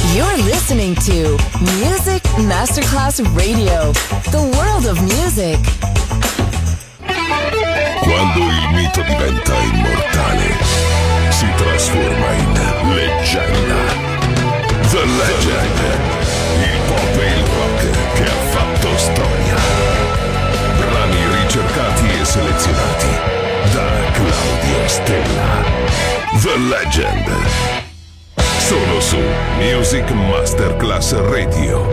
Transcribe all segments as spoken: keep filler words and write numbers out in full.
You're listening to Music Masterclass Radio, the world of music. Quando il mito diventa immortale, si trasforma in leggenda. The Legend, il pop e il rock che ha fatto storia. Brani ricercati e selezionati da Claudio Stella. The Legend. Solo su Music Masterclass Radio.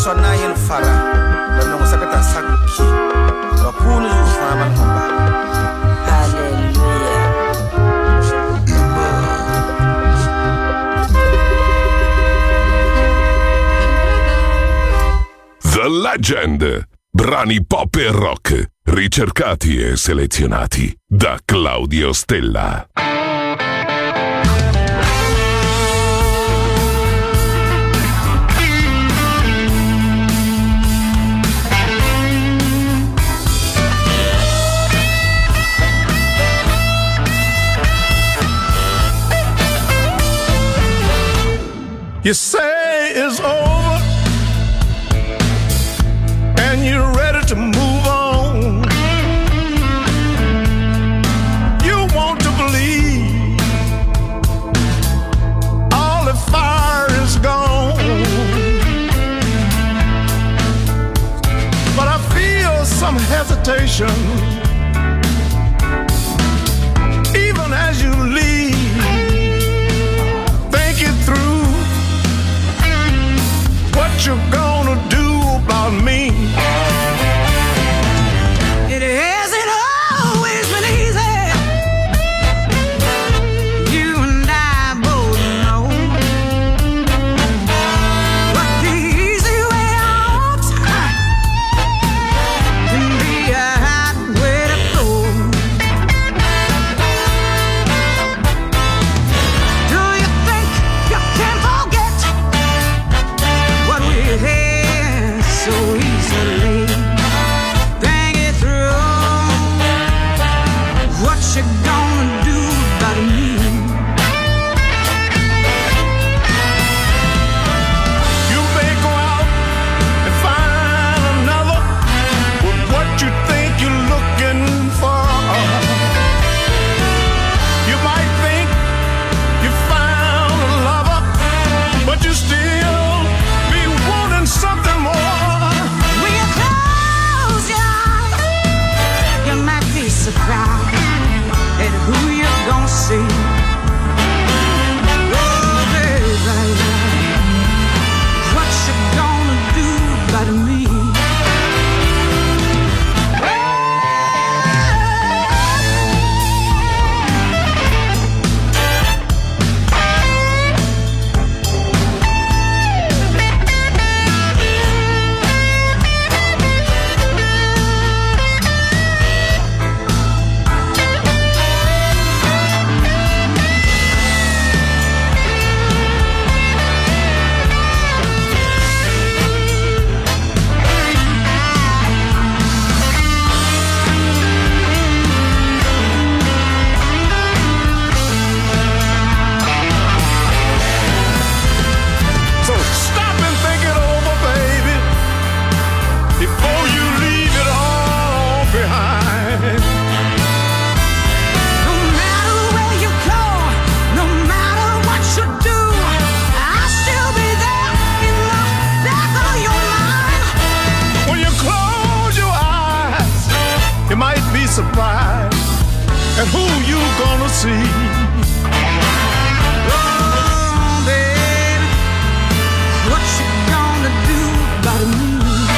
sonna yen fara la no sakata sakki wa punu zu faman homba. Hallelujah. The Legend. Brani pop e rock, ricercati e selezionati da Claudio Stella. You say it's over and you're ready to move on. You want to believe all the fire is gone, but I feel some hesitation even as you leave. Think it through, what you gonna do about me? It hasn't always been easy. You and I both know. But the easy way out can be a hard way to go. Do you think you can forget what we had so easily? Think it through, what you gonna do about me? You may go out and find another with what you think you're looking for. You might think you found a lover, but you still be wanting something more. When you close your eyes, you might be surprised at who you're gonna see. Oh, baby, what you gonna do about me? So stop and think it over, baby, before you leave it all behind. No matter where you go, no matter what you do, I'll still be there in the back of your mind. When you close your eyes, you might be surprised at who you gonna see. Oh, baby, what you gonna do about me?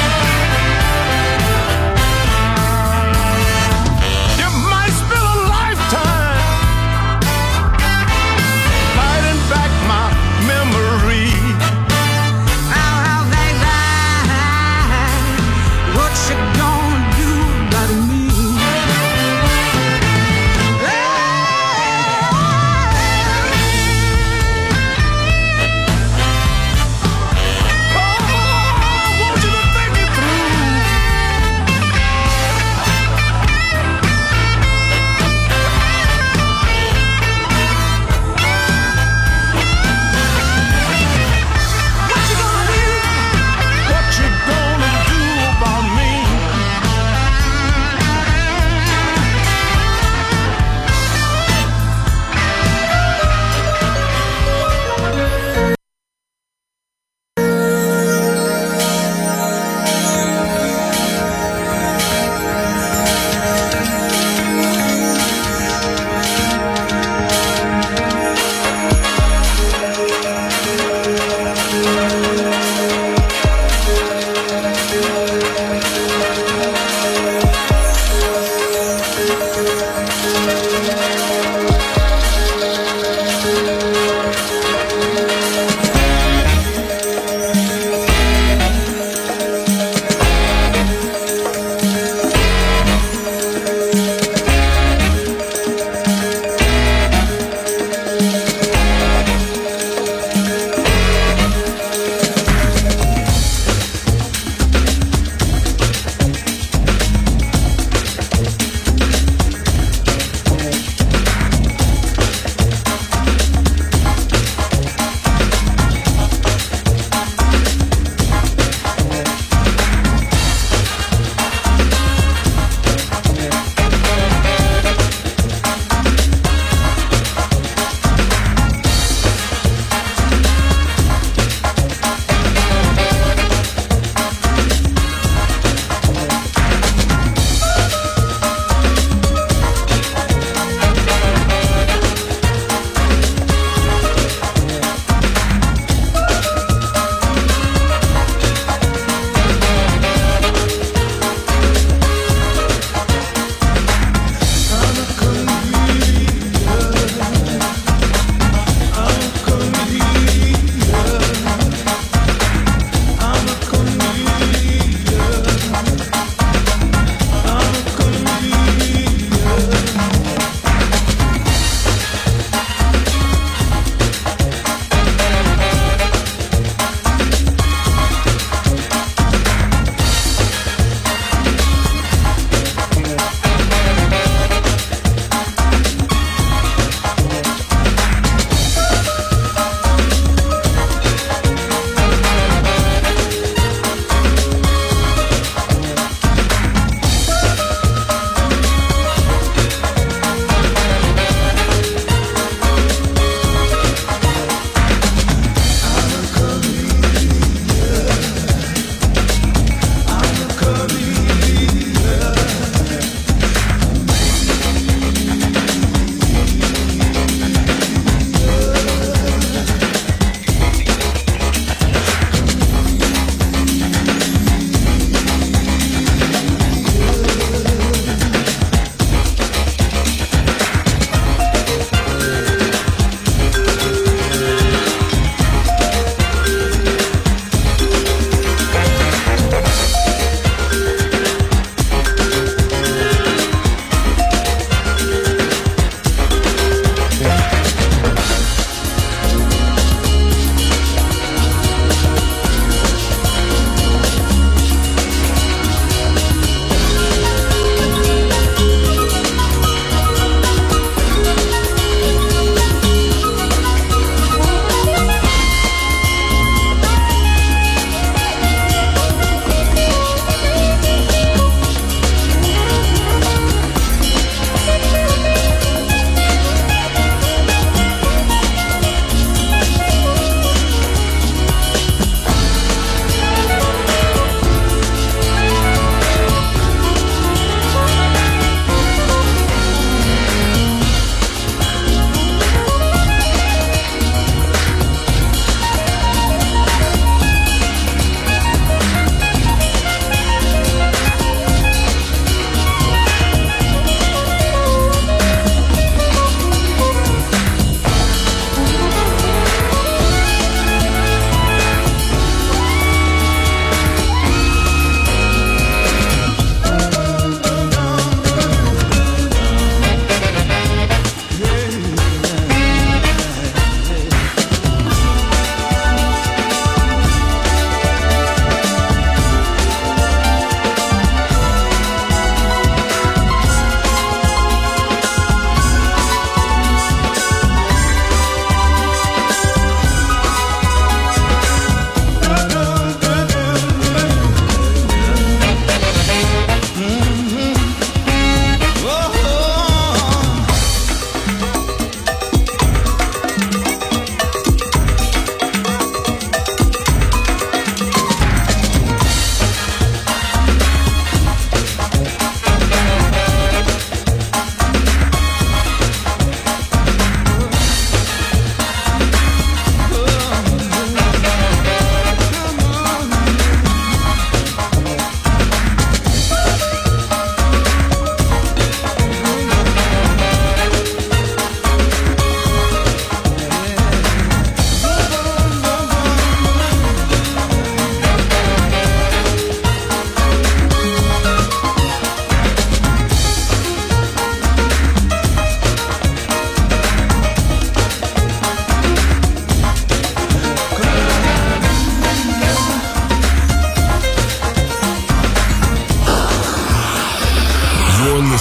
You might spend a lifetime fighting back my memory. Oh, oh, baby, what you gonna do about me? Hey!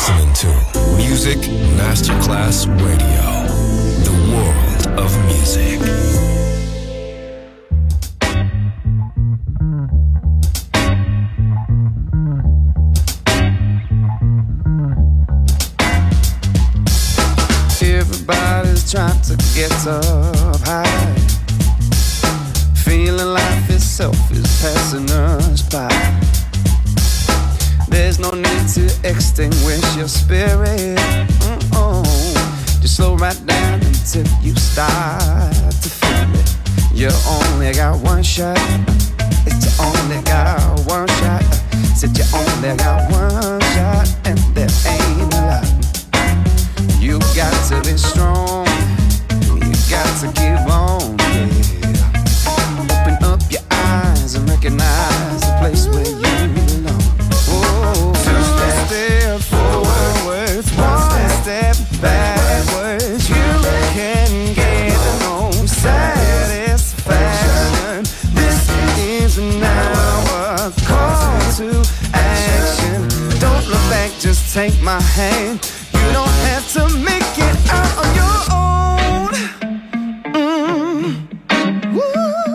listening to Music Masterclass Radio, the world of music. Everybody's trying to get up high, feeling life itself is passing us by. There's no need to extinguish your spirit. Mm-mm. Just slow right down until you start to feel it. You only got one shot. It's you only got one shot. Said you only got one shot, and there ain't a lot. You got to be strong. You got to keep on, yeah. Open up your eyes and recognize the place where you belong. Oh, two step forward, one step backwards. You can get no satisfaction. This is now a call to action. Don't look back, just take my hand. You don't have to make it out on your own. Mm. Woo.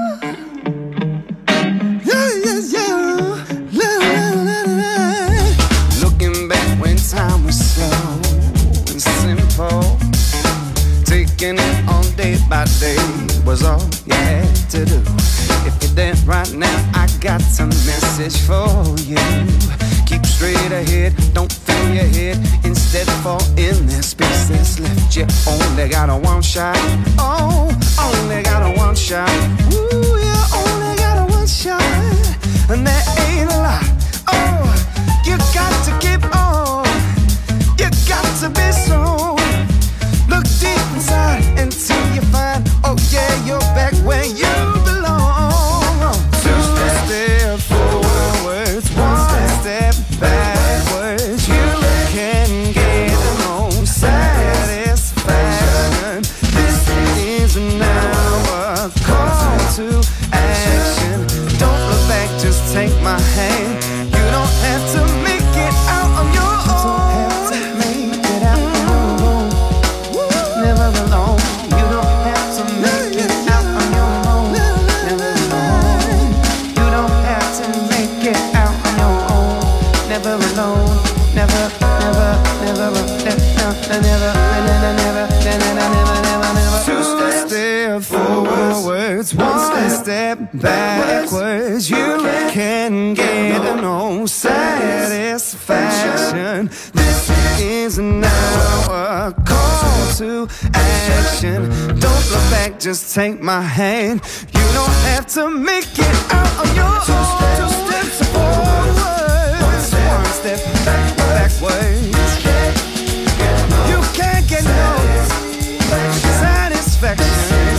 Yeah, yeah, yeah. La, la, la, la. Looking back when time was slow and simple, taking it on day by day was all you had to do. If you're dead right now, I got a message for you. Keep straight ahead, don't fill your head. Instead fall in that space that's left. You only got a one shot. Oh, only got a one shot. Ooh, you only got a one shot. And that ain't a lot. Oh, you got to keep on. You got to be strong. Look deep inside until you find, oh yeah, you're back where you belong. Two step forward, one step backwards. You can get no satisfaction. This is now a call to action. Don't look back, just take my hand. You don't have to make it out on your own. You don't have to make it out on your own. Never alone. You don't have to make it out on your own. Never alone. You don't have to make it out on your own. Never alone. Never, never, never, never, never, never, never, never, never. Two step forwards, one step backwards. You can get no satisfaction. This is now a call to action. Don't look back, just take my hand. You don't have to make it out on your own. Two steps forward, one step back, backwards. You can't get no satisfaction.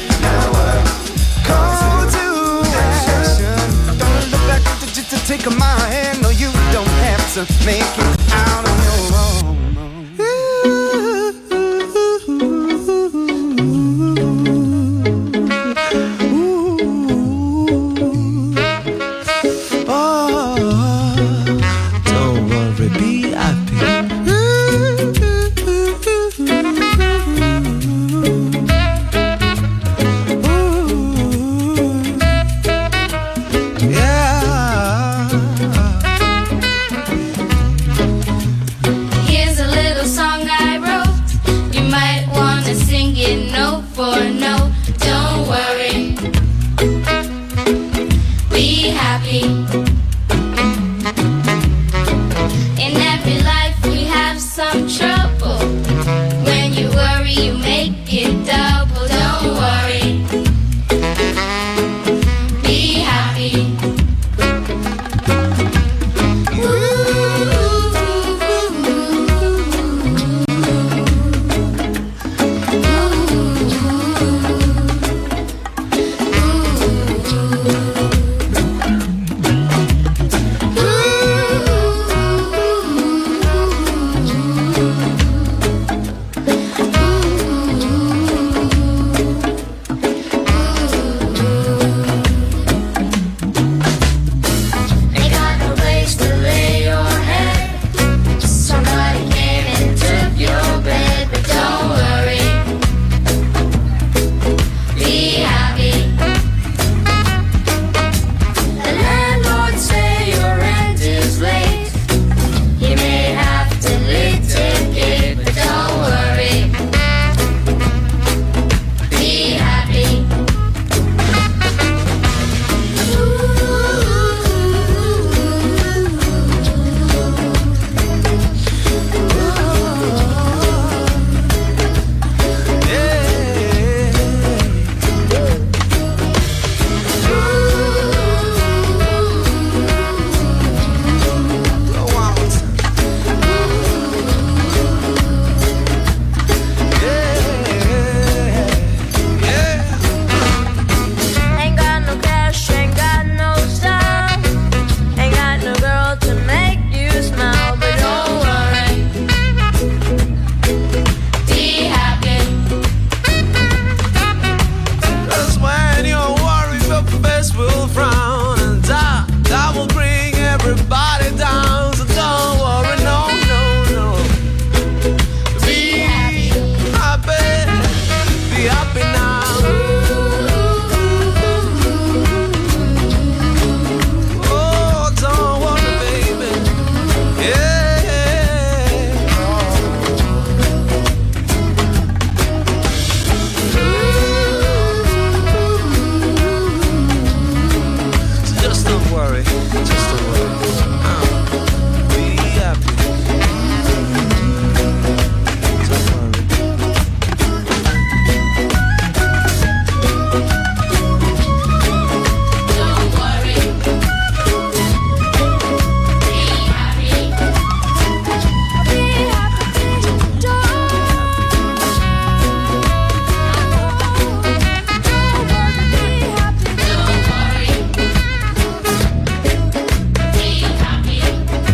Call to action. Don't look back, just to take my hand. No, you don't have to make it out on your own.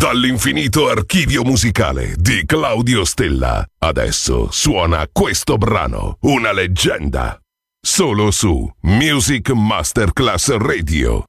Dall'infinito archivio musicale di Claudio Stella, adesso suona questo brano, una leggenda, solo su Music Masterclass Radio.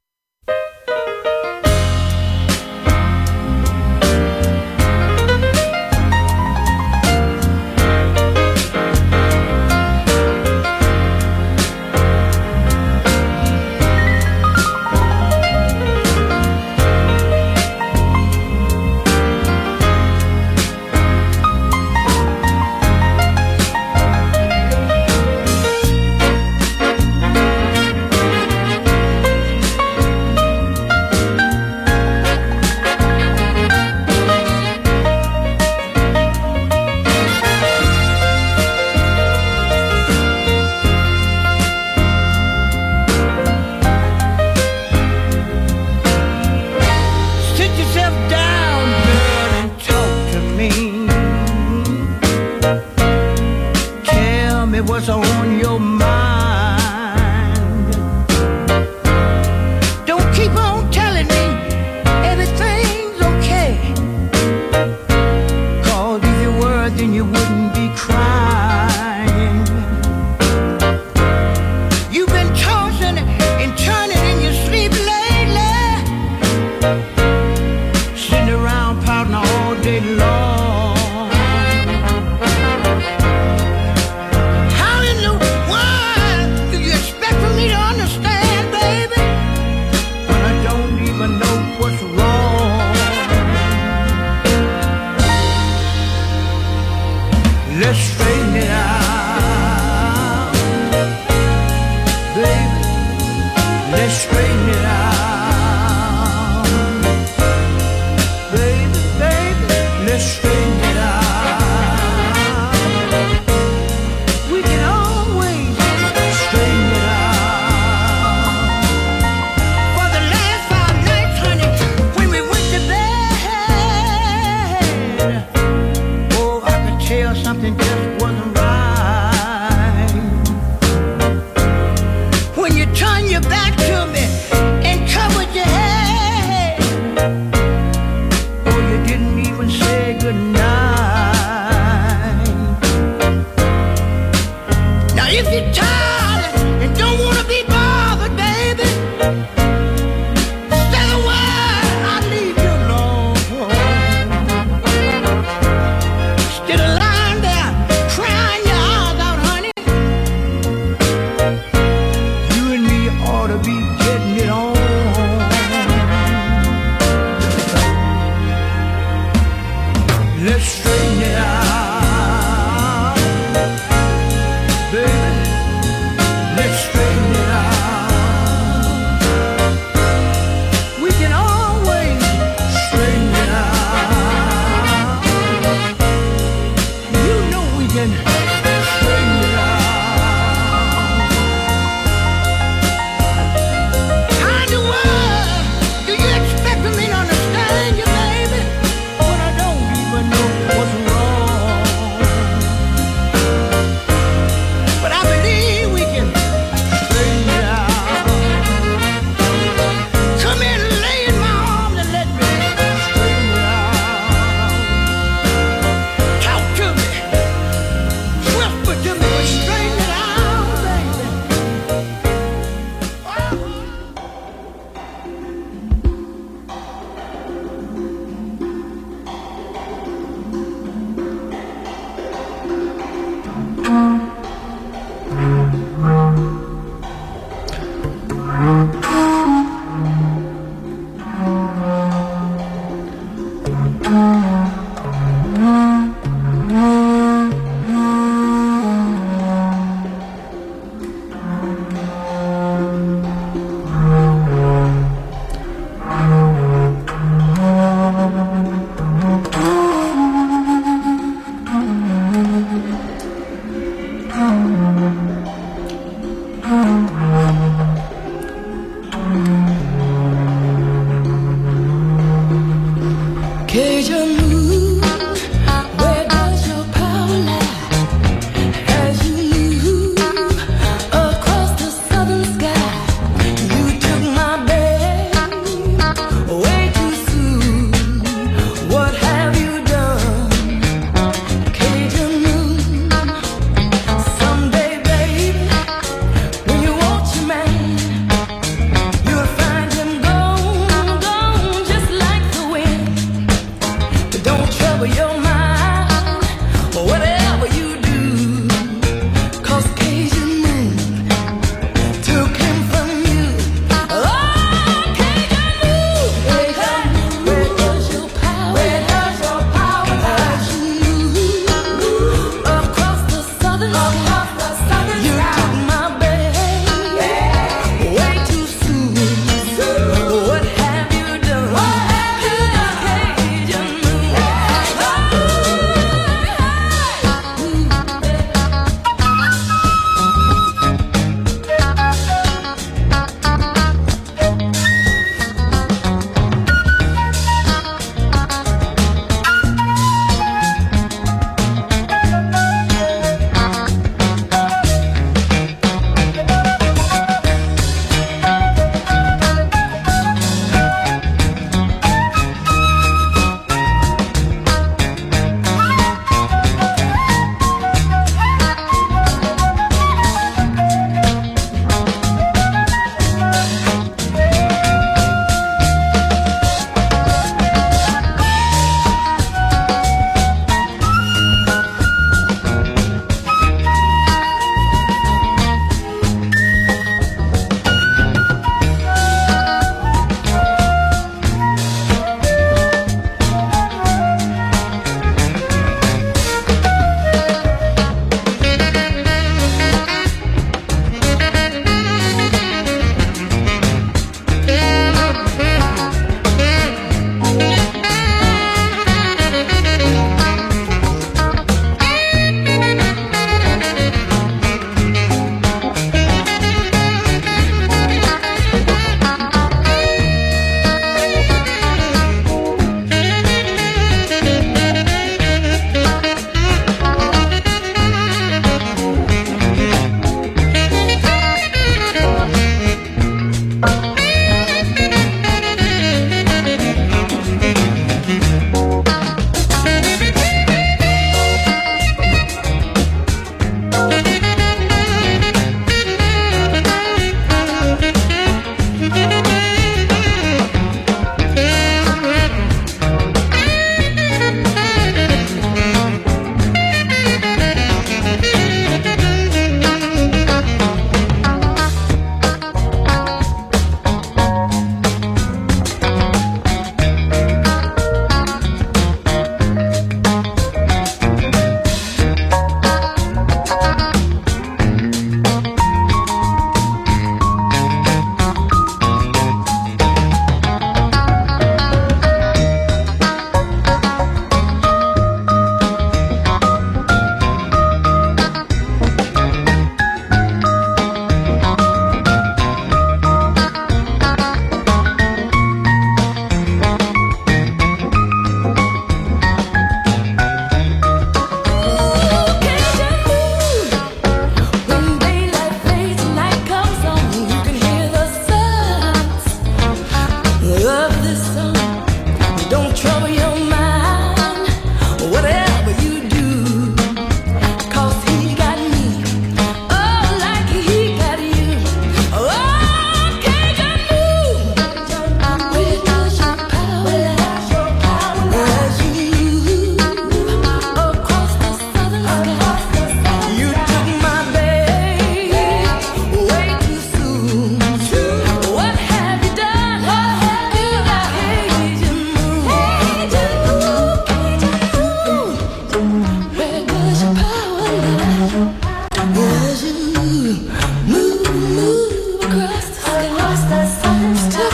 No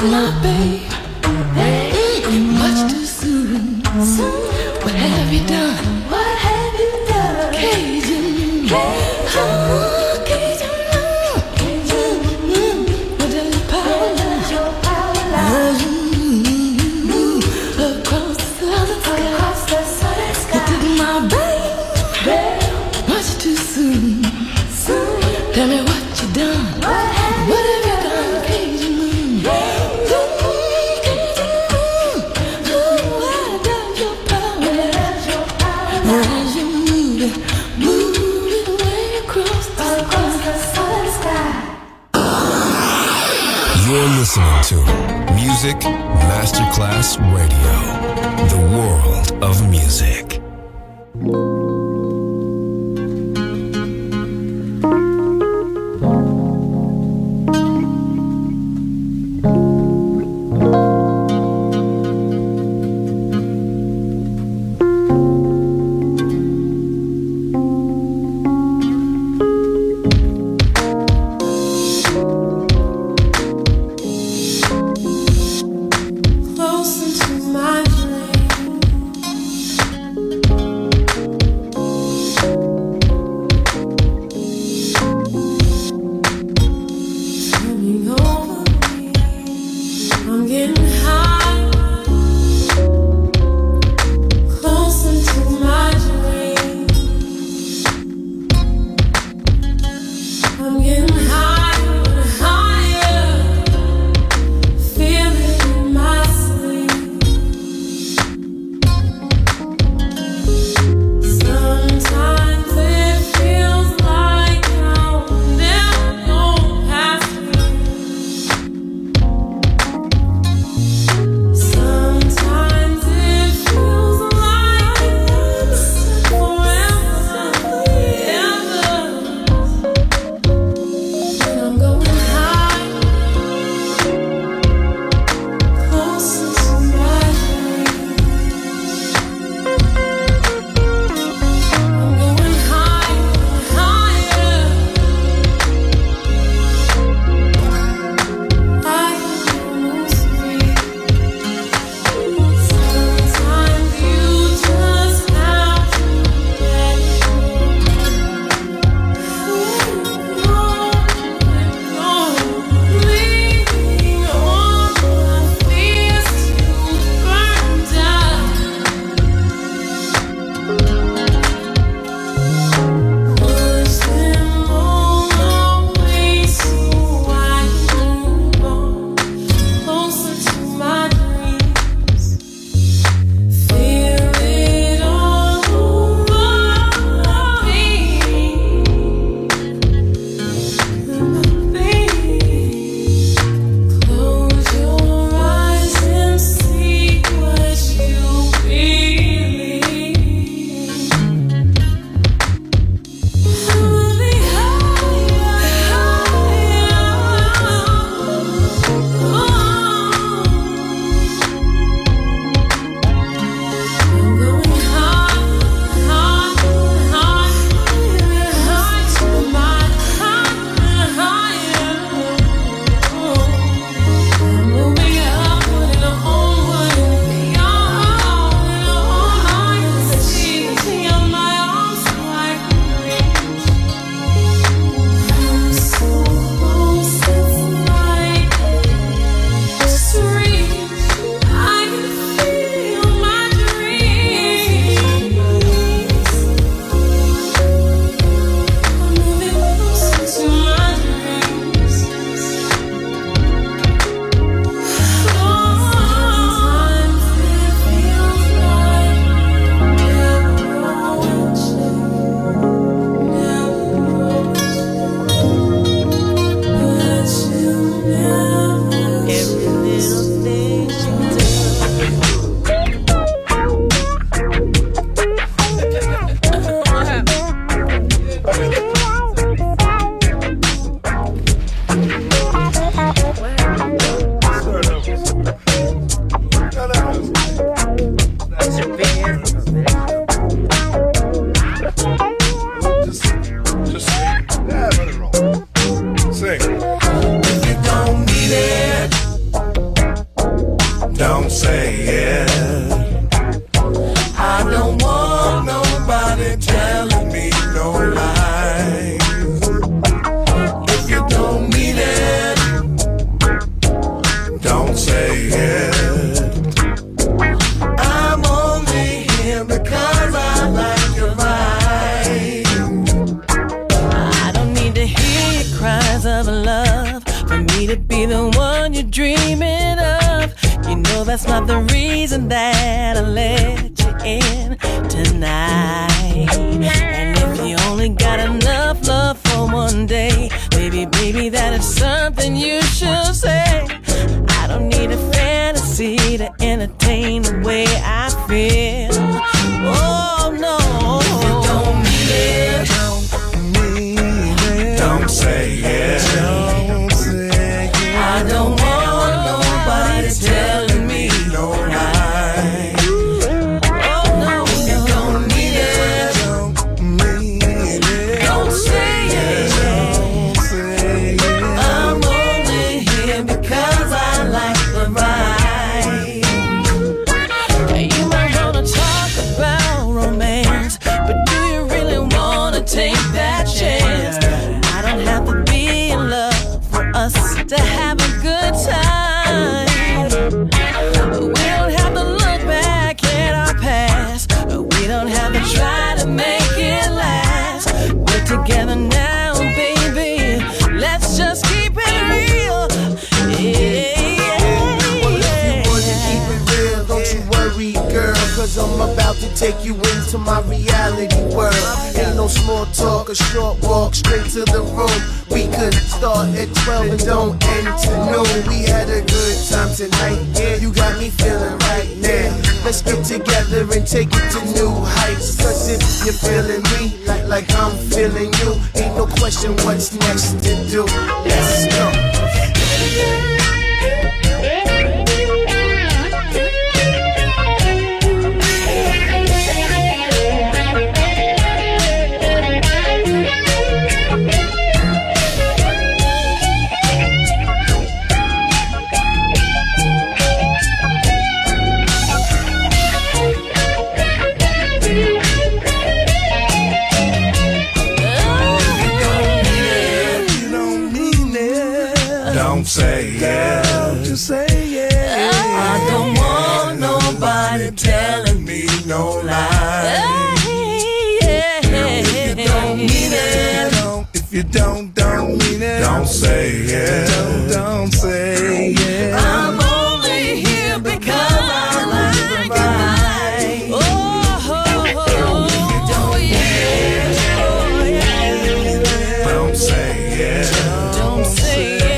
my babe. Mm, much too soon. What have you done? What have you done? Cajun. Oh, Cajun. Cajun. Mm, what does your power lie? Your power lie? Mm, across the southern sky. Across the southern sky. You took my babe. Much too soon. Soon. Tell me what you done. What have, what have you done, Cajun moon? Cajun moon. Oh, where does your power lie? As you move it, move it way across the southern sky. You're listening to Music Masterclass Radio, the world of music. Close into my dream. Coming over me, I'm getting high. Close into my dream. I'm getting higher and higher. Feel it in my sleep. Sometimes it feels like I'll never go past you. Sometimes it feels like I'm stuck forever, ever. When I'm going high. Closer to my dreams. I'm going higher, higher. I almost breathe. Sometimes you just have to let go. Leaving all my fears to burn down. Push them all away so I can move on closer to my dreams. Feel it all over me. Close your eyes and see what you believe. I'll be higher, higher. I'm going high, high, high, high to my higher, higher. I'm moving upward and onward and beyond, and all I can see is my arms like reach. I'm so close, it's like just reach. I can feel my dreams. I'm moving closer to my dreams. Sometimes it feels like never reaching, never but you never every little thing Just sing. Yeah, let it roll. Sing. If you don't need it, that's not the reason that I let you in tonight. And if you only got enough love for one day, baby, baby, that is something you should say. I don't need a fantasy to entertain the way I feel. Oh no, you don't need it. Don't need it. Don't say it. Don't say it. I don't want nobody telling me no lie. Oh no, you don't need it. Don't need it. Don't say it. Don't say it. I'm only here because I like the ride. You might wanna talk about romance, but do you really wanna take that chance? I don't have to be in love for us to have a good time. We don't have to look back at our past. We don't have to try to make it last. We're together now, baby. Let's just keep it real. Yeah. Don't you worry, girl, cause I'm about to take you into my reality world. Ain't no small talk, a short walk straight to the room. We could start at twelve and don't end till noon. We had a good time tonight, yeah, you got me feeling right now. Let's get together and take it to new heights. Cause if you're feeling me like, like I'm feeling you, ain't no question what's next to do. Let's go. Don't say yeah, just say yeah. I don't want nobody telling me no lie. Yeah. If you don't mean it, don't. If you don't, don't mean it. Don't say yeah. Don't, don't say yeah. I'm only here because I like it right. Oh, oh, oh, don't yeah. Oh, yeah. Don't say yeah. Don't say it.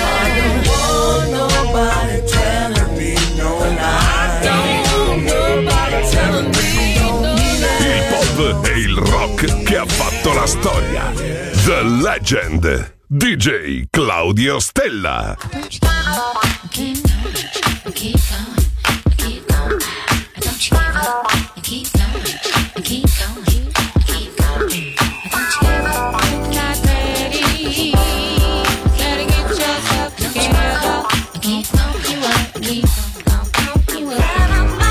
E il rock che ha fatto la storia. The Legend, D J Claudio Stella. Keep going, keep going, keep going. Don't you give up, keep going, keep going, keep going. Don't you give up, not ready. Gotta get yourself together. Keep going, you up, keep going, you up.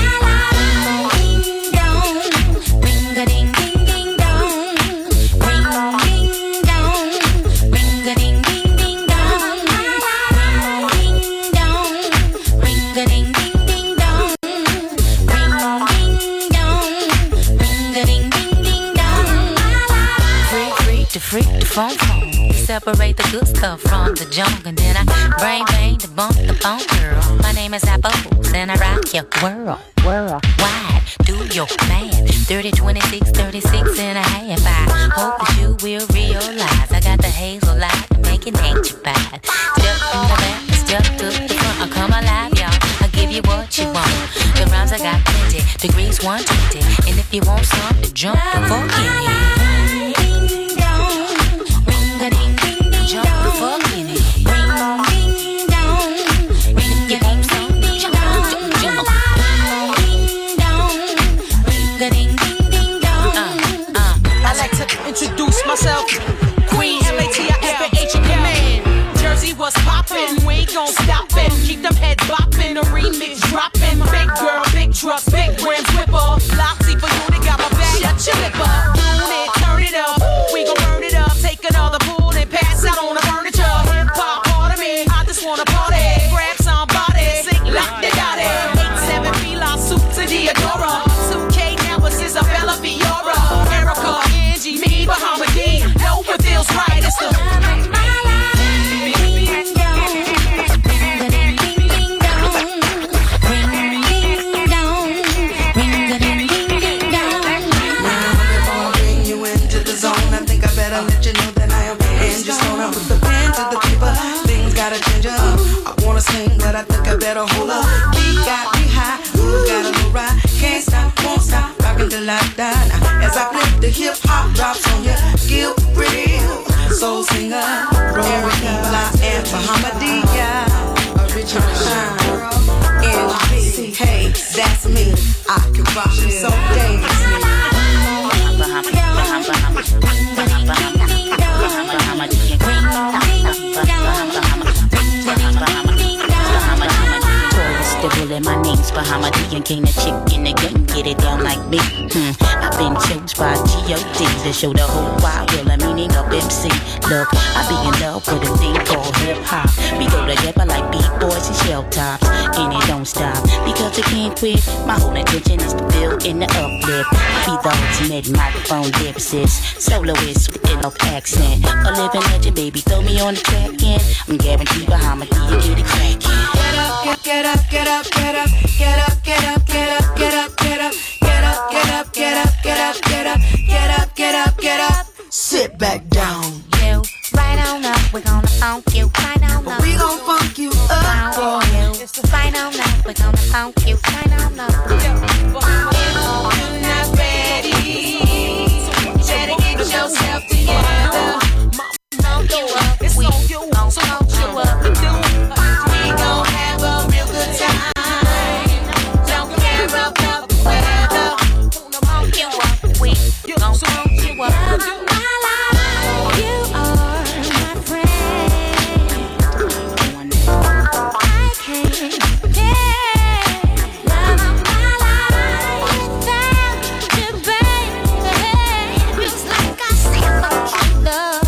Freak the phone phone, separate the good stuff from the junk, and then I brain bang to bump the phone girl. My name is Apples, and I rock your world, world wide. Do your math, thirty, twenty-six, thirty-six and a half. I hope that you will realize I got the hazel light to make it ain't you bad. Step in the back, step to the front, I come alive, y'all. I give you what you want. The rhymes I got plenty, degrees one twenty, and if you want some, to jump the fuck in it. Jump the fuck in it. Ring on, ding dong. Ring your name, song, jump, jump, jump. Ding dong. Ring a ding ding ding dong. Uh, uh. I like to introduce myself. Queen M A T I F A H in command. Jersey was poppin', we ain't gon' stop it. Keep them heads boppin', a remix droppin'. Big girl, big trucks, big rims, whipper. Loxy for you, they got my back. Shut your lip up, tune it, turn it up. We gon' burn it up, take another pool and pass out on the furniture. Hip hop part of me, I just wanna party. Grab somebody, sing like they got it. eight seven Fila, suit to Diodora. two K now, it's Isabella Fiora. Erica, Angie, me, Bahamadia. Know what feels right, it's the Ring Beat got me high, ooh, got a little ride. Can't stop, won't stop, rockin' till I die. Now, as I flip the hip hop drops on here, Gil Real, soul singer, Erica Blah, and Bahamadia. Original girl, N B, hey, that's me. I can rock you so dangerously. In my name's Bahamadia, king the chick in the game, get it down like me. Hmm. I've been chose by G O D to show the whole wide world the meaning of M C. Look, I be in love with a thing called hip hop. We go together like beat boys and shell tops, and it don't stop because I can't quit. My whole intention is to build in the uplift. Be the ultimate microphone dipsist, soloist with an accent, a living legend, baby. Throw me on the track and I'm guaranteed Bahamadia get it crackin'. Get up, get up, get up, get up, get up, get up, get up, get up, get up, get up, get up, get up, get up, get up, get up, get up. Sit back down. You right on up, we're gonna funk you. Right on up, we gon' funk you up for you. Right on up, we're gonna funk you. Right on up. If you're not ready, better get yourself together. Funk you up, it's on you, so funk you up. We gon' have a real good time. Don't care about the weather. Funk you up, we gon' funk you up. You are my friend. I can't get love of my life without you, baby. Feels like I said, fuck you, love.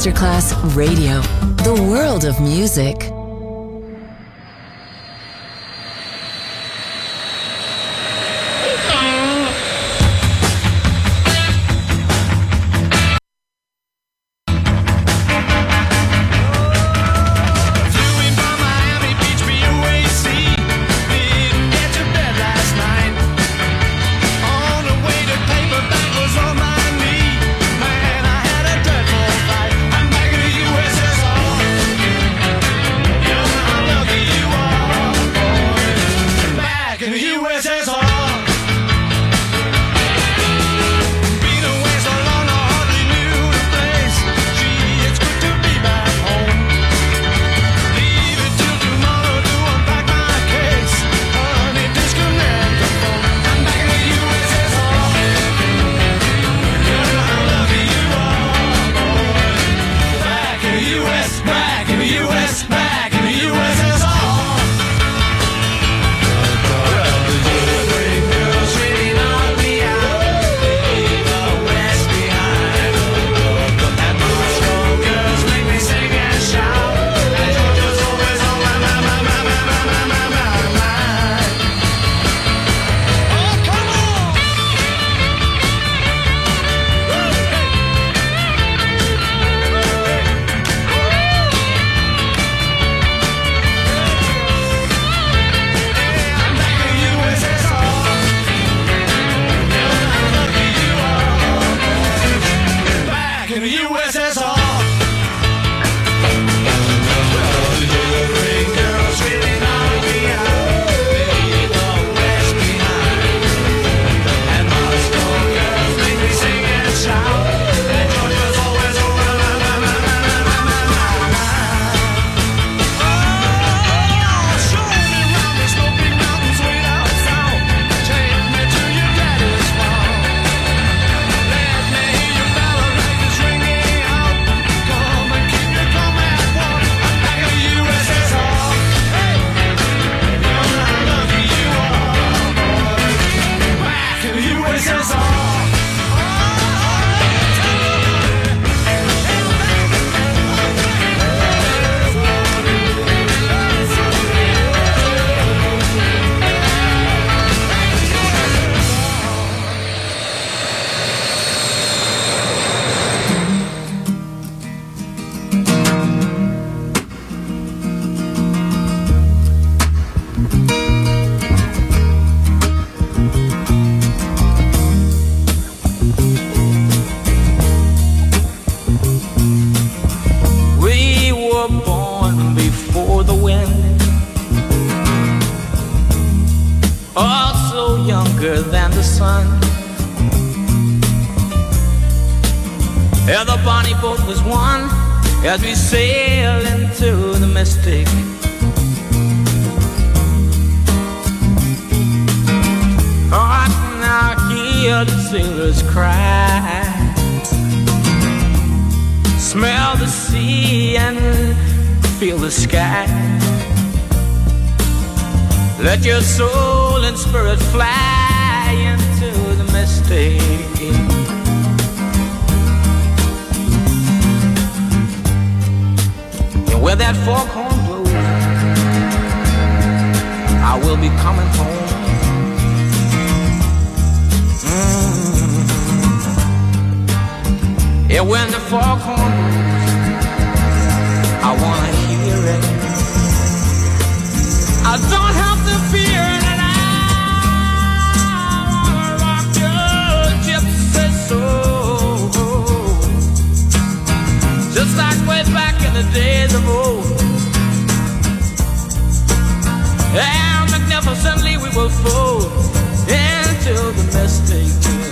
Masterclass Radio, the world of music. As we sail into the mystic, oh, I can now hear the sailors cry, smell the sea and feel the sky. Let your soul and spirit fly into the mystic. Where that foghorn blows, I will be coming home. Mm-hmm. Yeah, when the foghorn blows, I wanna hear it. I don't have to fear it. I wanna rock your gypsy soul, just like way back in the days of old. And magnificently we will fold into the mystic.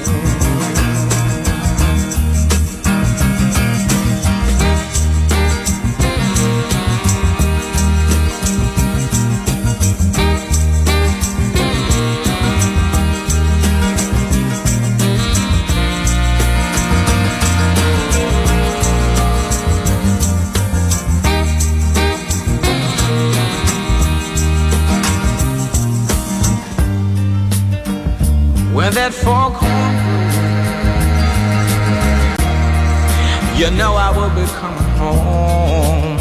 Where that foghorn, you know I will be coming. home.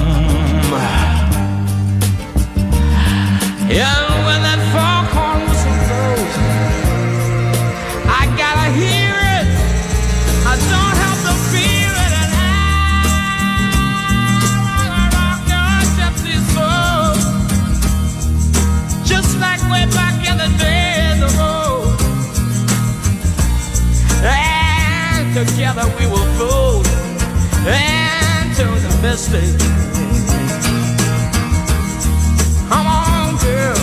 Yeah, when that foghorn whistle blows, I gotta hear it. I don't have to feel it, and I rock your gypsy soul, just like way back in the day, the road. And together we will float into the mystic. Come on, girl.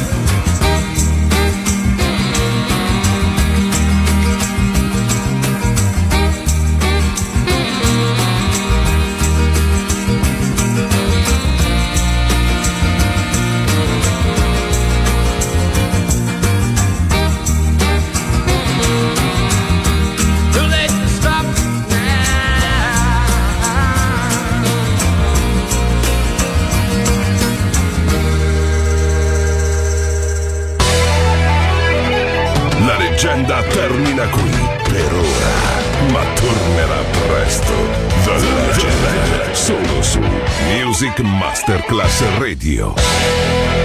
Too late to stop now. La leggenda termina qui per ora, ma tornerà presto. The Legend, solo su Music Masterclass Radio.